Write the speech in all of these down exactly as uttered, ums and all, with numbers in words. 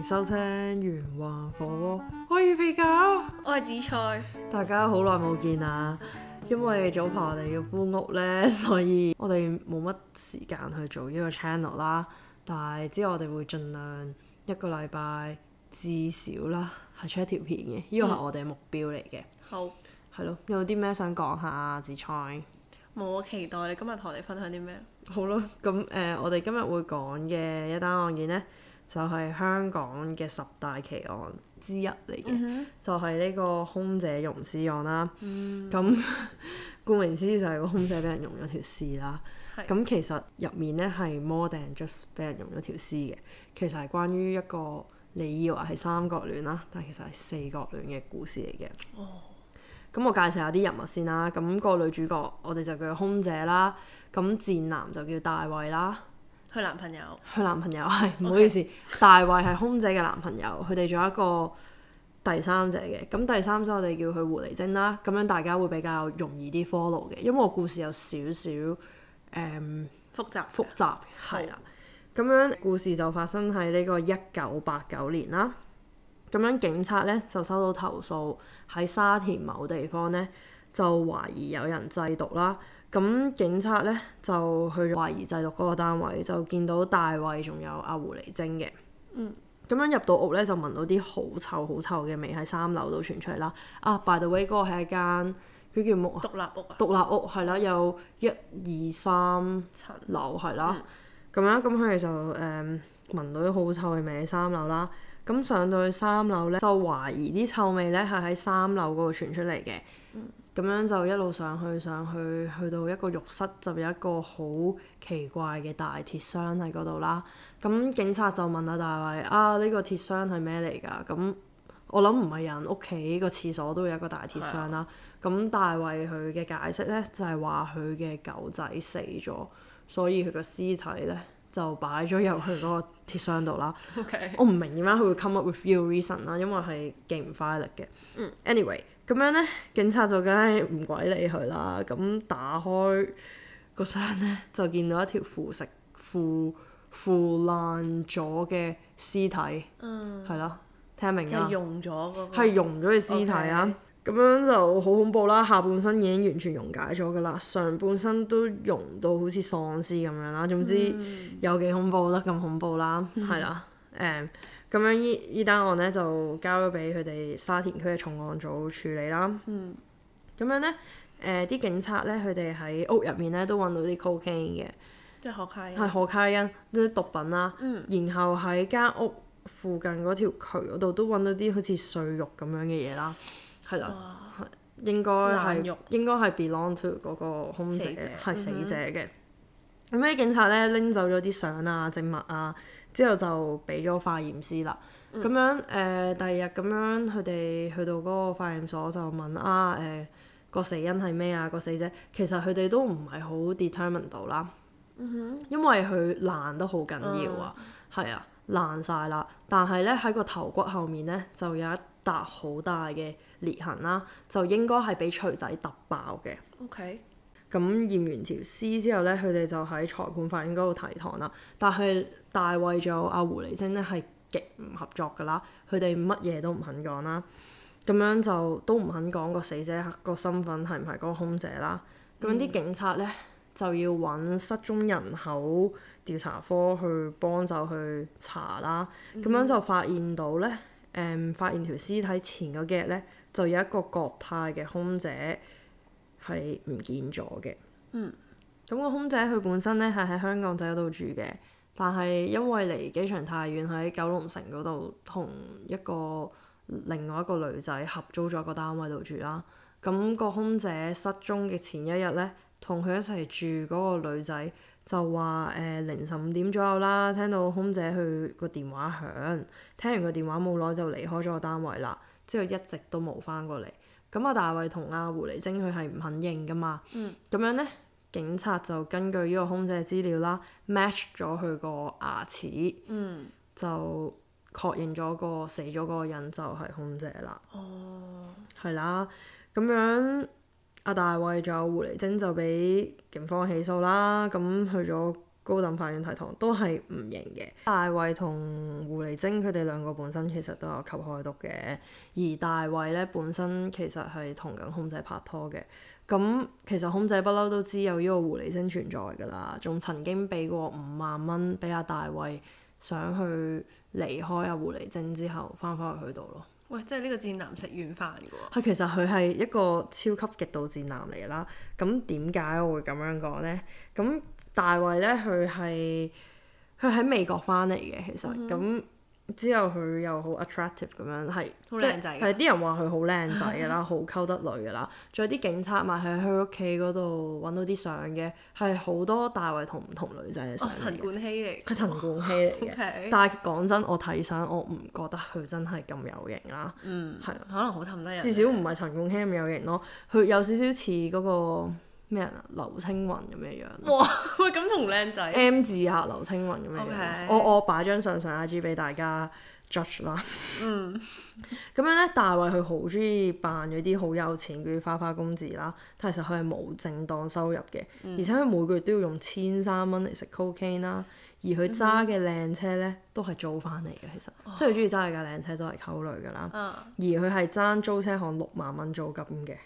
收聽圓環火鍋，我係肥狗， 我係紫菜。 大家好耐冇見啦，因為早排我哋要搬屋呢，所以我哋冇乜時間去做呢個 channel 啦。但係之後我哋會盡量一個禮拜至少啦係出一條片嘅，呢個係我哋嘅目標嚟嘅。 好， 係咯，有啲咩想講下紫菜？ 冇期待你今日同我哋分享啲咩？ 好咯，咁誒、呃，我哋今日會講嘅一單案件呢，就係、是、香港嘅十大奇案之一嚟嘅，嗯、就係呢個空姐溶屍案啦。咁、嗯、顧名思義就係個空姐俾人溶咗條屍啦。咁是其實入面呢係 more than just 俾人溶咗條屍嘅，其實係關於一個你以為係三角戀啦，但其實係四角戀嘅故事嚟嘅。哦。咁我介紹下啲人物先啦。咁、那個女主角我哋就叫空姐啦。咁賤男就叫大衛啦。 佢男朋友。 佢男朋友係，唔好意思， Okay. 大衛係空姐嘅男朋友。佢哋仲有一個第三者嘅。咁第三者我哋叫佢狐狸精啦。咁樣大家會比較容易啲 follow 嘅，因為個故事有少少誒複雜。複雜係啦。咁樣故事就發生喺呢個一九八九年啦。咁樣警察咧就收到投訴，喺沙田某地方咧就懷疑有人製毒啦。咁警察咧就去懷疑製毒嗰個單位，就見到大衛仲有阿狐狸精嘅。嗯。咁樣入到屋咧就聞到啲好臭好臭嘅味喺三樓度傳出嚟啦。啊 by the way 嗰個係一間佢叫木獨立屋啊。 獨立屋係啦，有一二三層樓係啦。咁樣咁佢哋就誒、嗯、聞到啲好臭嘅味喺三樓啦。咁上到去三樓咧，就懷疑啲臭味咧係喺三樓嗰度傳出嚟嘅。咁、嗯、樣就一路上去上去，去到一個浴室就有一個好奇怪嘅大鐵箱喺嗰度啦。咁警察就問阿大衛啊，呢、呢個鐵箱係咩嚟㗎？咁我諗唔係人屋企個廁所都有一個大鐵箱啦。咁的大衛佢嘅解釋咧就係話佢嘅狗仔死咗，所以佢個屍體咧就擺咗入去嗰個鐵箱度啦。Okay. 我唔明點解佢會 come up with your reason 啦，因為係勁唔快力嘅。嗯、anyway 咁樣咧，警察就梗係唔鬼理佢啦。咁打開個箱咧，就見到一條腐蝕腐腐爛咗嘅屍體。嗯。係咯，聽明啊？ 就溶咗嗰個。係溶咗嘅屍體啊！Okay. 咁樣就好恐怖啦，下半身已經完全溶解咗噶啦，上半身都溶到好似喪屍咁樣啦。總之有幾恐怖得咁恐怖啦，係啦、嗯。誒，咁、嗯、樣依依單案咧就交咗俾佢哋沙田區嘅重案組處理啦。咁、嗯、樣咧，誒、呃、啲警察咧，佢哋喺屋入面咧都揾到啲 cocaine 嘅， 即係可卡因。係可卡因啲毒品啦。嗯、然後喺間屋附近嗰條渠嗰度都揾到啲好似碎肉咁樣嘅嘢啦。係啦，哇應該係肉應該係 belong to 嗰個空姐，係死者嘅。咁啲、嗯、警察咧拎走咗啲相啊、證物啊，之後就俾咗化驗師啦。咁、嗯、樣誒、呃，第二日咁樣佢哋去到嗰個化驗所就問啊誒、呃、個死因係咩啊？個死者其實佢哋都唔係好 determine 到啦，嗯、哼因為佢爛得好緊要啊，係、嗯、啊爛晒啦。但係咧喺個頭骨後面咧就有一笪好大嘅裂痕啦，就應該係俾錘仔揼爆嘅。OK。咁驗完條屍之後咧，佢哋就喺裁判法院嗰度提堂啦。但係大衛仲有阿狐狸精咧係極唔合作㗎啦，佢哋乜嘢都唔肯講啦。咁樣就都唔肯講個死者個身份係唔係嗰個空姐啦。咁啲、嗯、警察咧就要揾失蹤人口調查科去幫手去查啦。咁、嗯、樣就發現到咧。誒、嗯、發現條屍體前嗰幾日咧，就有一個國泰嘅空姐係唔見咗嘅。嗯。咁個空姐佢本身咧係喺香港仔嗰度住嘅，但係因為離機場太遠，喺九龍城嗰度同一個另外一個女仔合租咗個單位度住啦。咁個空姐失蹤嘅前一日咧，同佢一齊住嗰個女仔就話誒、呃、凌晨五點左右啦，聽到空姐佢個電話響，聽完個電話冇耐就離開咗個單位啦，之後一直都冇翻過嚟。咁阿大衛同阿狐狸精佢係唔肯認噶嘛，咁、嗯、樣咧警察就根據呢個空姐資料啦 match 咗佢個牙齒，嗯、就確認咗個死咗嗰個人就係空姐啦。哦，係啦，咁樣。阿大衛仲有狐狸精就俾警方起訴啦，咁去咗高等法院提堂都係唔認嘅。大衛同狐狸精佢哋兩個本身其實都有吸開毒嘅，而大衛咧本身其實係同緊空姐拍拖嘅。咁其實空姐不嬲都知有呢個狐狸精存在㗎啦，仲曾經俾過五萬蚊俾阿大衛，想去離開阿狐狸精之後翻返去佢度咯。 喂，即係呢個賤男食軟飯㗎喎。 係，其實佢係一個超級極度賤男嚟啦。咁點解我會咁樣講呢？咁大衛咧，佢係佢喺美國翻嚟嘅，其實咁、嗯、之後佢又好 attractive 咁樣，係好靚仔， 係啲人話佢好靚仔㗎啦，好溝得女㗎啦。仲有啲警察咪喺佢屋企嗰度揾到啲相嘅，係好多大衛同唔同女仔嘅相。哦， 陳冠希嚟。 佢陳冠希嚟嘅。 Okay. 但係講真，我睇相我唔覺得佢真係咁有型啦。 嗯。係。可能好氹得人。 至少唔係陳冠希咁有型咯，佢有少少似嗰個。咩人啊？劉青雲咁嘅樣。 哇！喂，咁同靚仔。M 字下劉青雲咁嘅樣。 Okay. 我我擺張相上 I G 俾大家 judge 啦。嗯。咁樣咧，大衛佢好中意扮嗰啲好有錢嗰啲花花公子啦，但其實佢係冇正當收入嘅，嗯、而且佢每個月都要用千三蚊嚟食 cocaine 啦，而佢揸嘅靚車咧都係租翻嚟嘅，其實，哦、即係佢中意揸嘅架靚車都係溝女㗎啦。嗯、而佢係爭租車行六萬蚊租金嘅。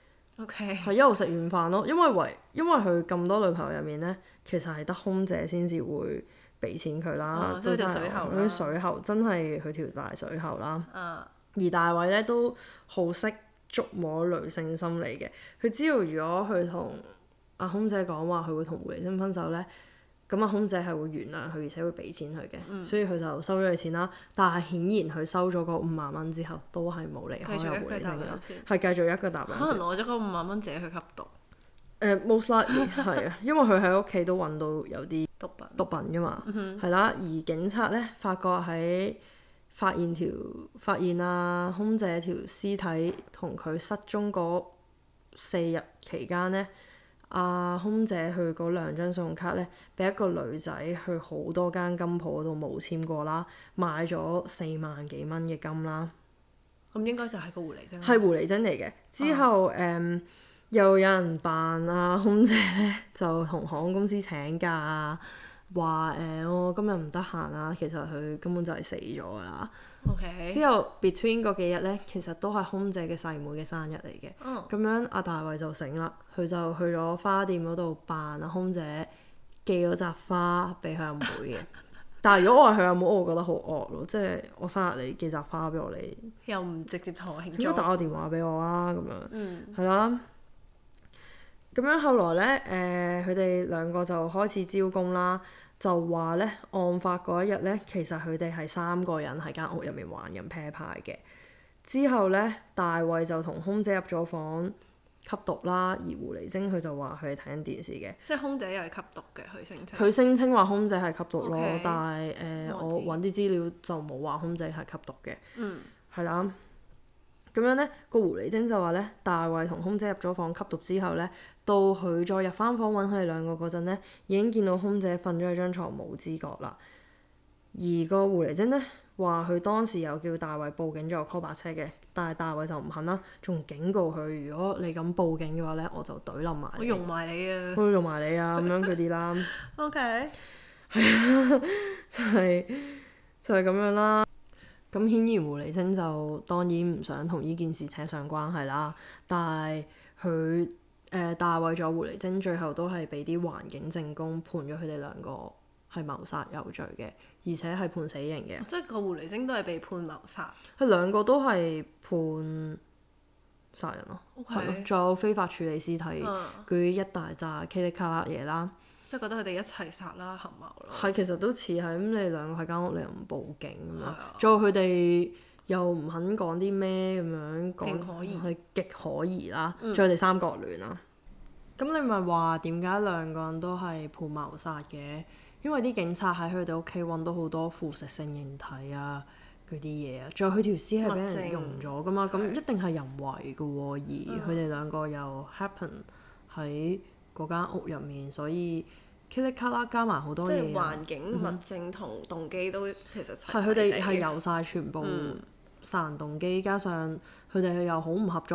OK， 係一路食軟飯咯，因為為因為佢咁多女朋友入面咧，其實係得空姐先至會俾錢佢啦，都真係佢啲水喉真係佢條大水喉啦。Uh. 而大衛咧都好識捉摸女性心理嘅，佢知道如果佢同阿空姐講話佢會同狐狸精分手咧，咁阿空姐係會原諒佢，而且會俾錢佢嘅，嗯、所以佢就收咗佢錢啦。但係顯然佢收咗嗰五萬蚊之後，都係冇離開阿狐狸精啦，係繼續一個搭兩。 可能攞咗嗰五萬蚊自己去吸毒。 誒、呃、most likely 係啊，因為佢喺屋企都揾到有啲毒品毒品㗎嘛，係、 嗯、哼啦。而警察咧發覺喺發現條發現啊空姐條屍體同佢失蹤嗰四日期間咧。阿、啊、空姐去嗰兩張信用卡咧，俾一個女仔去好多間金鋪嗰度冇簽過啦，買咗四萬幾蚊嘅金啦。 咁應該就係個狐狸精。 係狐狸精嚟嘅。之後誒、啊嗯、又有人扮阿空姐咧，就同航空公司請假啊，話誒我今日唔得閒啊，其實佢根本就係死咗㗎啦。 Okay. 之後 between 嗰幾日咧，其實都係空姐嘅細妹嘅生日嚟嘅。咁、oh. 樣阿大衛就醒啦，佢就去咗花店嗰度扮阿空姐寄咗扎花俾佢阿妹嘅。但係如果我係佢阿妹，我會覺得好惡咯，即係我生日你寄扎花俾我，你又唔直接同我慶祝， 應該打個電話俾我啊咁樣。 嗯。係啦。咁樣後來咧，誒佢哋兩個就開始招供啦。就話咧，案發嗰一日咧，其實佢哋係三個人喺間屋入面玩緊啤牌嘅。之後咧，大衛就同空姐入咗房吸毒啦，而狐狸精佢就話佢係睇緊電視嘅。 即係空姐又係吸毒嘅，佢聲稱。 佢聲稱話空姐係吸毒咯，Okay. 但係誒、呃、我揾啲資料就冇話空姐係吸毒嘅。嗯。係啦。咁樣咧，個狐狸精就話咧，大衛同空姐入咗房吸毒之後咧，到佢再入翻房揾佢哋兩個嗰陣咧，已經見到空姐瞓咗喺張床冇知覺啦。而個狐狸精咧話佢當時有叫大衛報警再 call 白車嘅，但係大衛就唔肯啦，仲警告佢如果你咁報警嘅話咧，我就懟冧埋你。 我用埋你啊！ 我用埋你啊！咁樣嗰啲啦。 OK。 係啊，就係就係咁樣啦。咁顯然狐狸精就當然唔想同呢件事扯上關係啦，但係佢誒大衛咗狐狸精最後都係俾啲環境證供判咗佢哋兩個係謀殺有罪嘅，而且係判死刑嘅。 即係個狐狸精都係被判謀殺。 佢兩個都係判殺人咯，係咯 Okay.， 仲有非法處理屍體嗰啲、嗯、一大紮噼里卡啦嘢啦。 即係覺得佢哋一齊殺啦，合謀啦。係， 其實都似係咁，你兩個喺間屋，你又唔報警咁樣，仲有佢哋又唔肯講啲咩咁樣講，係極可疑啦。仲有佢哋三角戀啦。咁、嗯、你咪話點解兩個人都係判謀殺嘅？因為啲警察喺佢哋屋企揾到好多腐蝕性液體啊，嗰啲嘢啊，仲有佢條屍係俾人溶咗噶嘛，咁證一定係人為噶喎。而佢哋兩個又 happen 喺嗰間屋入面，所以噼里卡啦加埋好多嘢。 即係環境、物證同動機都其實齊齊地。係佢哋係有晒全部殺人動機，嗯、加上佢哋又好唔合作。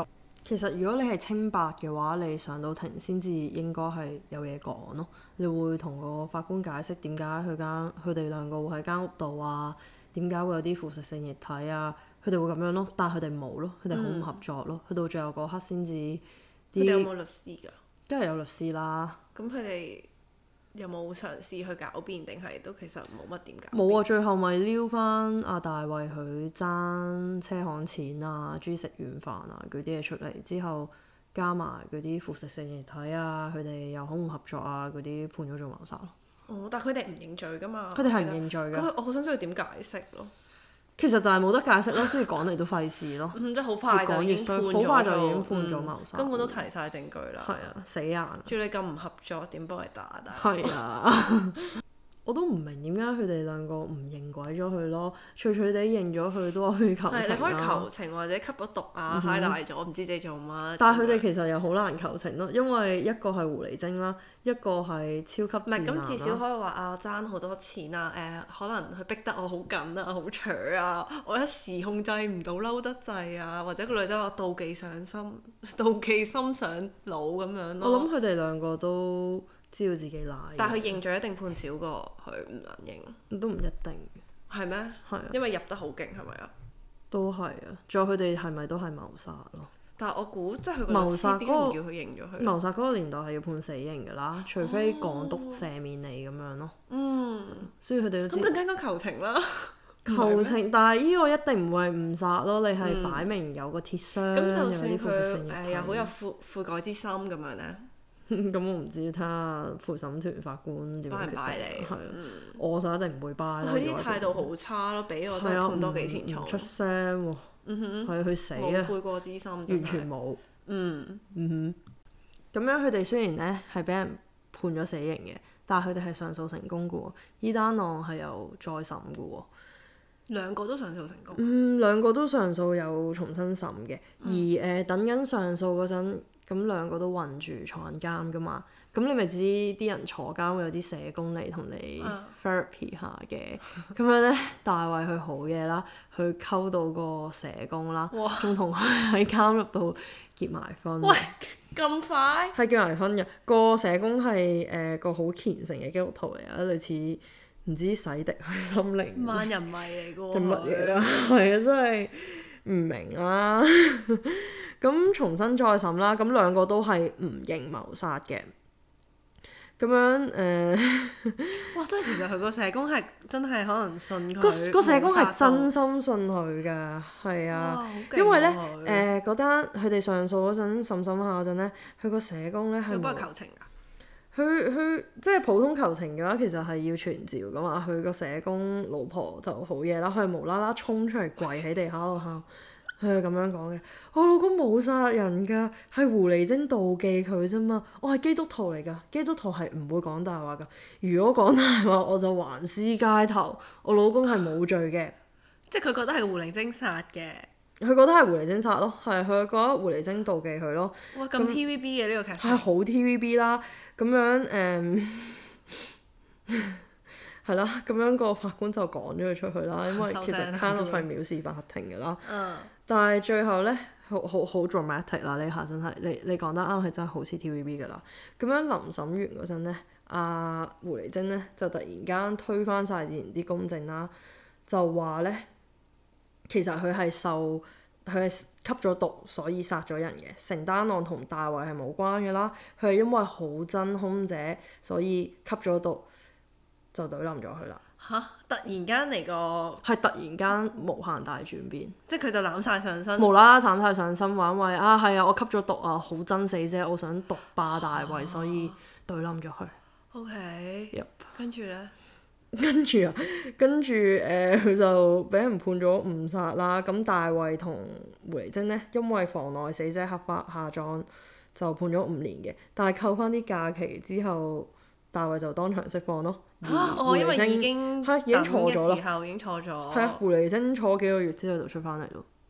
其實如果你係清白嘅話，你上到庭先至應該係有嘢講咯。你會同個法官解釋點解佢間佢哋兩個會喺間屋度啊？點解會有啲腐蝕性液體啊？佢哋會咁樣咯，但係佢哋冇咯，佢哋好唔合作咯。去、嗯、到最後嗰刻先至。佢哋有冇律師㗎？ 梗係有律師啦。 咁佢哋有冇嘗試去狡辯，定係都其實冇乜點解？ 冇啊！最後咪撩翻阿大衛佢爭車行錢啊、豬食軟飯啊嗰啲嘢出嚟之後，加埋嗰啲腐蝕性液體啊，佢哋又好唔合作啊，嗰啲判咗做謀殺咯。 哦，但係佢哋唔認罪㗎嘛？ 佢哋係唔認罪㗎。 咁我好想知道點解釋咯。 其實就係冇得解釋咯，所以講嚟都費事咯。 嗯，即係好快就已經判咗， 好快就已經判咗謀殺、 嗯。根本都齊晒證據啦。 係啊，死硬。 仲要你咁唔合作，點幫佢打打？ 係啊。我都唔明點解佢哋兩個唔認鬼咗佢咯，脆脆地認咗佢都話去求情啦。係，你可以求情或者吸咗毒啊，揩大咗，唔知自己做乜。但係佢哋其實又好難求情咯，因為一個係狐狸精啦，一個係超級賤男啦。唔係，咁至少可以話啊，爭好多錢啊，誒、呃，可能佢逼得我好緊啊，好扯啊，我一時控制唔到嬲得滯啊，或者個女仔話妒忌上心，妒忌心上腦咁樣咯。我諗佢哋兩個都知道自己賴，但係佢認罪一定判少過佢唔能認，都唔一定。係咩？係啊，因為入得好勁係咪啊？都係啊，仲有佢哋係咪都係謀殺咯？但係我估即係佢個律師點解唔叫佢認咗佢？謀殺嗰個年代係要判死刑㗎啦，除非港督赦免你咁樣咯。嗯，所以佢哋都知。咁更加應該求情啦。求情，但係呢個一定唔會係誤殺咯，你係擺明有個鐵箱，有啲腐蝕性液體。咁就算佢誒又好有悔悔改之心咁樣咧？咁我唔知睇下陪審團法官點樣決定。拜你？係啊，嗯、我就一定唔會拜啦。佢啲態度好差咯，俾我真係判多幾錢重。出聲喎，嗯哼，係去死啊！冇悔過之心，完全冇。嗯嗯哼，咁樣佢哋雖然咧係俾人判咗死刑嘅，但係佢哋係上訴成功嘅喎。依單案係有再審嘅喎。兩個都上訴成功。嗯，兩個都上訴有重新審嘅，嗯、而誒、呃、等緊上訴嗰陣。咁兩個都韞住坐緊監噶嘛，咁你咪知啲人坐監會有啲社工嚟同你 therapy 下嘅，咁樣咧大衛佢好嘢啦，佢溝到個社工啦，仲同佢喺監獄度結埋婚。喂，咁快？係結埋婚嘅，個社工係誒、呃、個好虔誠嘅基督徒嚟啊，類似唔知洗滌佢心靈。萬人迷嚟噶喎。定乜嘢啊？係啊，真係唔明啦。咁重新再審啦，咁兩個都係唔認謀殺嘅，咁樣誒。呃、哇！真係其實佢個社工係真係可能信佢。個個社工係真心信佢㗎，係啊。因為咧誒嗰單佢哋上訴嗰陣審審下嗰陣咧，佢個社工咧係冇幫佢求情㗎。佢佢即係普通求情嘅話，其實係要傳召㗎嘛。佢個社工老婆就好嘢啦，佢係無啦啦衝出嚟跪喺地下度喊。佢係咁樣講嘅，我老公冇殺人㗎，係狐狸精妒忌佢啫嘛。我係基督徒嚟㗎，基督徒係唔會講大話㗎。如果講大話，我就橫屍街頭。我老公係冇罪嘅，即係佢覺得係狐狸精殺嘅。佢覺得係狐狸精殺咯，係佢覺得狐狸精妒忌佢咯。哇！咁 T V B 嘅呢個劇情係好 T V B 啦，咁樣誒。嗯係啦，咁樣個法官就趕咗佢出去啦，因為其實 kind of 係藐視法庭㗎啦。嗯、但係最後咧，好好好 dramatic 啦！呢下真係，你你講得啱，係真係好似 T V B 㗎啦。咁樣臨審完嗰陣咧，阿、啊、狐狸精咧就突然間推翻晒之前啲公證啦，就話咧其實佢係受佢係吸咗毒，所以殺咗人嘅。成單案同大衛係冇關嘅啦，佢係因為好憎兇姐，所以吸咗毒。就懟冧咗佢啦！嚇！突然間嚟個係突然間無限大轉變，即係佢就攬晒上身，無啦啦攬晒上身，話因為啊係啊，我吸咗毒啊，好憎死啫，我想毒霸大衛，啊、所以懟冧咗佢。OK。Yep。跟住咧？跟住啊，跟住誒，佢、呃、就俾人判咗誤殺啦。咁大衛同狐狸精咧，因為妨礙死者合法下葬，就判咗五年嘅。但係扣翻啲假期之後，大衛就當場釋放咯。嚇！哦，因為已經係已經坐咗啦，時候已經坐咗。係啊，狐狸精坐幾個月之後就出翻嚟咯，完。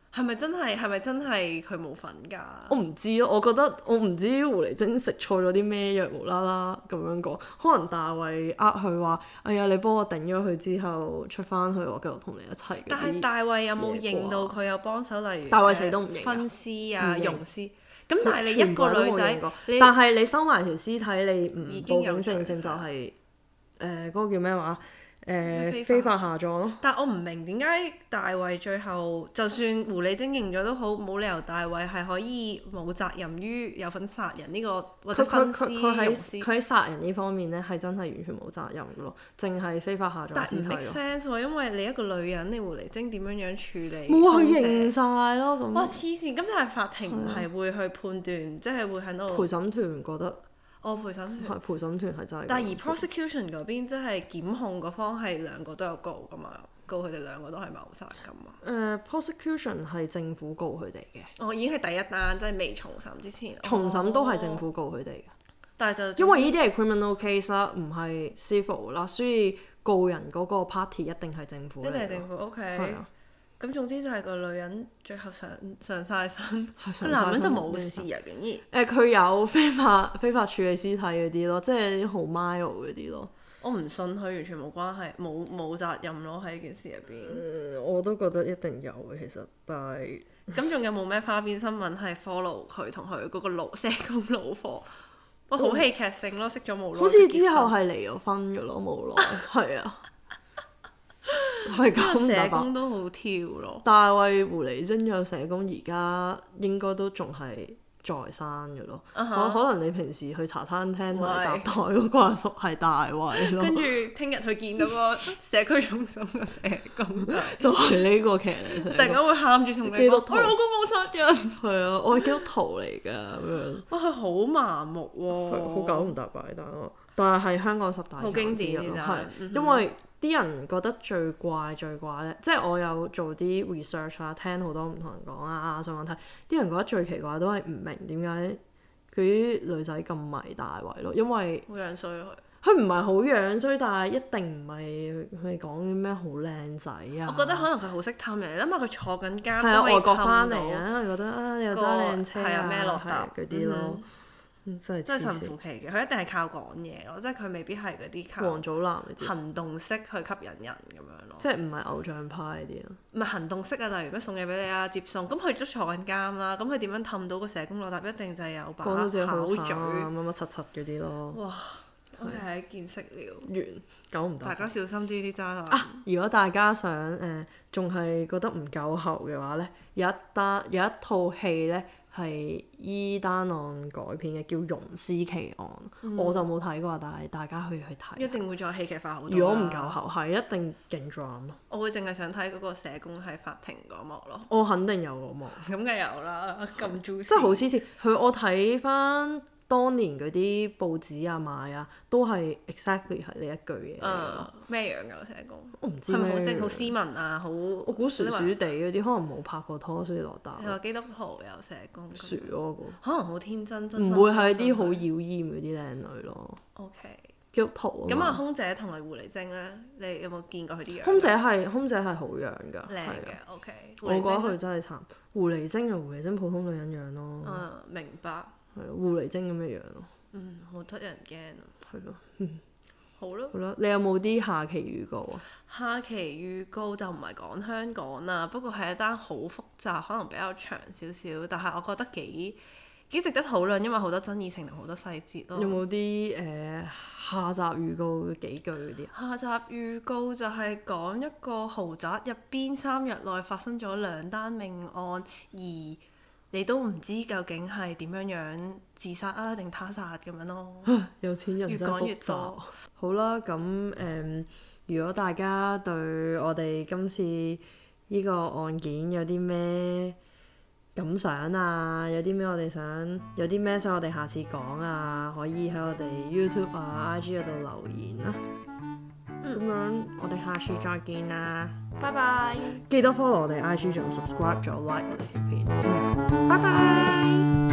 係咪真係？係咪真係佢冇份㗎？ 我唔知咯，我覺得我唔知狐狸精食錯咗啲咩藥，無啦啦咁樣講。可能大衛呃佢話：哎呀，你幫我頂咗佢之後出翻去，我繼續同你一齊。 但係大衛有冇認到佢有幫手？例如大衛死都唔認。 分屍啊、溶屍。咁但係你一個女仔， 但係你收埋條屍體，你唔報警正正就係誒嗰個叫咩話？誒、呃、非法下葬咯， 但我唔明點解大衛最後就算狐狸精認咗都好，冇理由大衛係可以冇責任於有份殺人呢、這個或者分屍溶屍。 佢喺殺人呢方面咧係真係完全冇責任嘅咯，淨係非法下葬屍體咯。但唔 make sense 喎，因為你一個女人，你狐狸精點樣樣處理？ 冇啊，佢認晒咯咁。 哇黐線！咁就係法庭唔係會去判斷，即係、啊、會喺度。 陪審團覺得。 我、哦、陪審團係陪審團係真係， 但係而 prosecution 嗰邊即係檢控嗰方係兩個都有告噶嘛，告佢哋兩個都係謀殺噶嘛。誒、 uh, prosecution 係政府告佢哋嘅。 哦，已經係第一單，即係未重審之前。 重審都係政府告佢哋嘅。 但係就因為呢啲係 criminal case 啦，唔係 civil 啦，所以告人嗰個 party 一定係政府。 一定係政府 ，OK。係啊。咁總之就係個女人最後上上曬身，個男人就冇事啊，竟然。誒佢、呃、有非法非法處理屍體嗰啲咯，即係啲好 mild 嗰啲咯。 我唔信佢完全冇關係，冇冇責任咯喺呢件事入邊、 呃。我都覺得一定有嘅，其實，但係。 咁仲有冇咩花邊新聞係 follow 佢同佢嗰個老社工老婆？哇，好戲劇性咯，識咗冇耐。好似之後係離咗婚嘅咯，冇耐。係啊。係咁， 社工都好跳咯。 大衛狐狸精有社工而家應該都仲係在生嘅咯。Uh huh. 可能你平時去茶餐廳同埋搭台嗰個阿叔係大衛咯。 跟住聽日佢見到個社區中心嘅社工， 就係呢個劇嚟。 突然間會喊住同你講：我老公冇殺人。係啊，我係基督徒嚟㗎咁樣。 哇！佢好麻木喎， 好九唔搭八，但係但係係香港十大好經典嘅， 係因為。啲人覺得最怪最怪咧，即係我有做啲 research 啦，聽好多唔同人講啊，上網睇，啲人覺得最奇怪都係唔明點解佢啲女仔咁迷大衛咯，因為好樣衰佢。 佢唔係好樣衰，但係一定唔係佢哋講啲咩好靚仔啊。 我覺得可能佢好識氹人，你諗下佢坐緊監係啊， 外國翻嚟啊，因為覺得啊，你又揸靚車啊， 咩落搭嗰啲咯。真係神乎其嘅，佢一定係靠講嘢咯，即係佢未必係嗰啲靠王祖藍行動式去吸引人咁樣咯。 即係唔係偶像派啲咯？ 唔係行動式啊，例如咩送嘢俾你啊、接送，咁佢都坐緊監啦，咁佢點樣氹到個社工落搭？一定就係有把口嘴乜乜柒柒嗰啲咯。哇！我係一見識了。 完，九唔搭。大家小心啲啲渣男。 啊！如果大家想誒，仲、呃、係覺得唔夠喉嘅話咧，有一單有一套戲咧。係依單案改編嘅，叫《溶屍奇案》，嗯、我就冇睇過，但係大家可以去睇。一定會再戲劇化好多。 如果唔夠喉，係一定勁 drama 咯。 我會淨係想睇嗰個社工喺法庭嗰幕咯。 我肯定有嗰幕。咁梗有啦，咁 juicy。 即係好黐線，佢我睇翻當年嗰啲報紙啊賣啊，都係 exactly 係呢一句嘢。 誒咩樣㗎個社工？ 我唔知係咪好即係好斯文啊？好我估薯薯地嗰啲，可能冇拍過拖，所以落搭。 你話基督徒有社工？ 薯嗰個。 可能好天真，真唔會係啲好妖豔嗰啲靚女咯。 OK。基督徒。 咁啊，空姐同埋狐狸精咧，你有冇見過佢啲樣？ 空姐係空姐係好樣㗎。 靚嘅，OK。 我覺得佢真係慘。狐狸精啊，狐狸精普通女人樣咯。 嗯，明白。 係狐狸精咁嘅樣咯。 嗯，好得人驚啊！ 係咯，嗯， 好咯。 好啦，你有冇啲下期預告啊？ 下期預告就唔係講香港啦，不過係一單好複雜，可能比較長少少，但係我覺得幾幾值得討論，因為好多爭議性同好多細節咯。有冇啲誒下集預告幾句嗰啲？下集預告就係講一個豪宅入邊三日內發生咗兩單命案，而你都唔知究竟係點樣樣自殺啊定他殺咁樣咯。有錢人真係複雜。越講越多。好啦，咁誒、嗯，如果大家對我哋今次呢個案件有啲咩感想啊，有啲咩我哋想，有啲咩想我哋下次講啊，可以喺我哋 YouTube 啊、I G 嗰度留言啦。咁、嗯、樣我哋下次再見啦，拜拜！記得 follow 我哋 I G 仲有 subscribe 仲有 like 我哋條片，拜拜！